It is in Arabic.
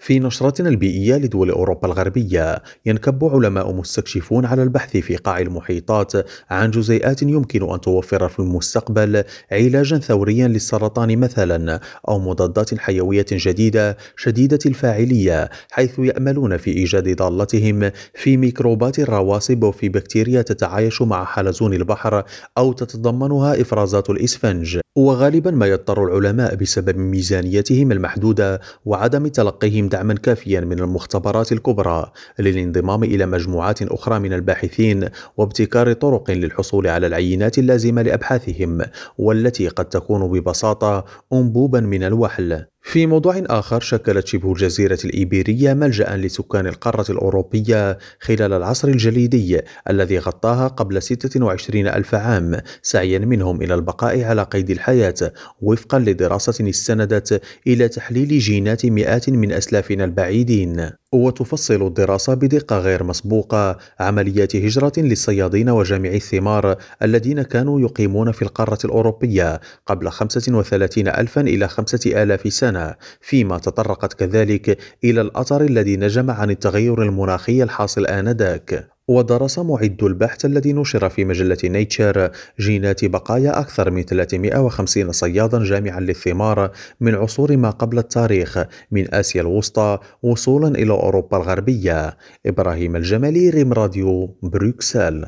في نشرتنا البيئية لدول أوروبا الغربية، ينكب علماء مستكشفون على البحث في قاع المحيطات عن جزيئات يمكن أن توفر في المستقبل علاجا ثوريا للسرطان مثلا، أو مضادات حيوية جديدة شديدة الفاعلية، حيث يأملون في إيجاد ضالتهم في ميكروبات الرواسب وفي بكتيريا تتعايش مع حلزون البحر أو تتضمنها إفرازات الإسفنج. وغالبا ما يضطر العلماء بسبب ميزانيتهم المحدودة وعدم تلقيهم دعما كافيا من المختبرات الكبرى للانضمام إلى مجموعات أخرى من الباحثين وابتكار طرق للحصول على العينات اللازمة لأبحاثهم، والتي قد تكون ببساطة أنبوبا من الوحل. في موضوع آخر، شكلت شبه الجزيرة الإيبيرية ملجأ لسكان القارة الأوروبية خلال العصر الجليدي الذي غطاها قبل 26 ألف عام، سعيا منهم إلى البقاء على قيد الحياة، وفقا لدراسة استندت إلى تحليل جينات مئات من أسلافنا البعيدين. وتفصل الدراسة بدقة غير مسبوقة عمليات هجرة للصيادين وجامعي الثمار الذين كانوا يقيمون في القارة الأوروبية قبل 35 ألفا إلى 5000 سنة، فيما تطرقت كذلك إلى الأثر الذي نجم عن التغير المناخي الحاصل آنذاك. ودرس معد البحث الذي نشر في مجلة نيتشر جينات بقايا أكثر من 350 صيادا جامعا للثمار من عصور ما قبل التاريخ، من آسيا الوسطى وصولا إلى أوروبا الغربية. إبراهيم الجمالي، ريم راديو، بروكسل.